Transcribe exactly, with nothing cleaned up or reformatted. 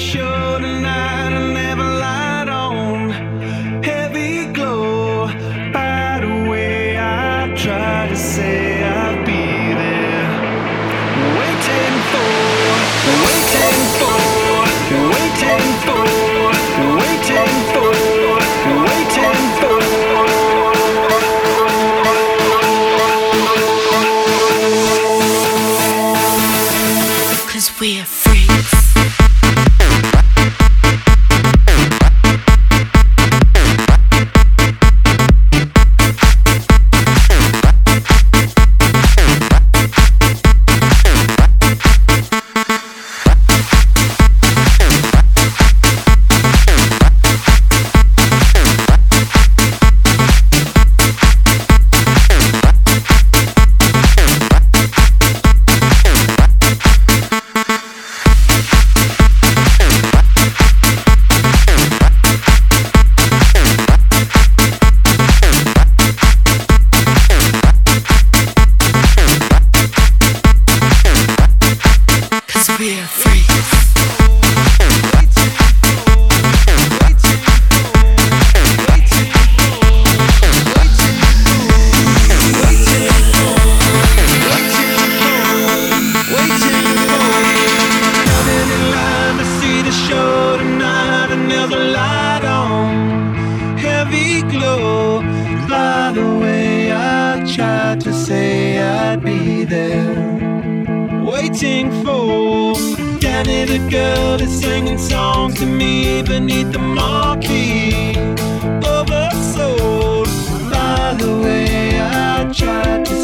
show tonight. I never lied on. Heavy glow. By the way, I try to say I'll be there. Waiting for, waiting for, waiting for, waiting for, waiting for. Cause we're freaks. We're freaks. To say I'd be there, waiting for Danny the girl is singing songs to me beneath the marquee, oversold. By the way, I tried to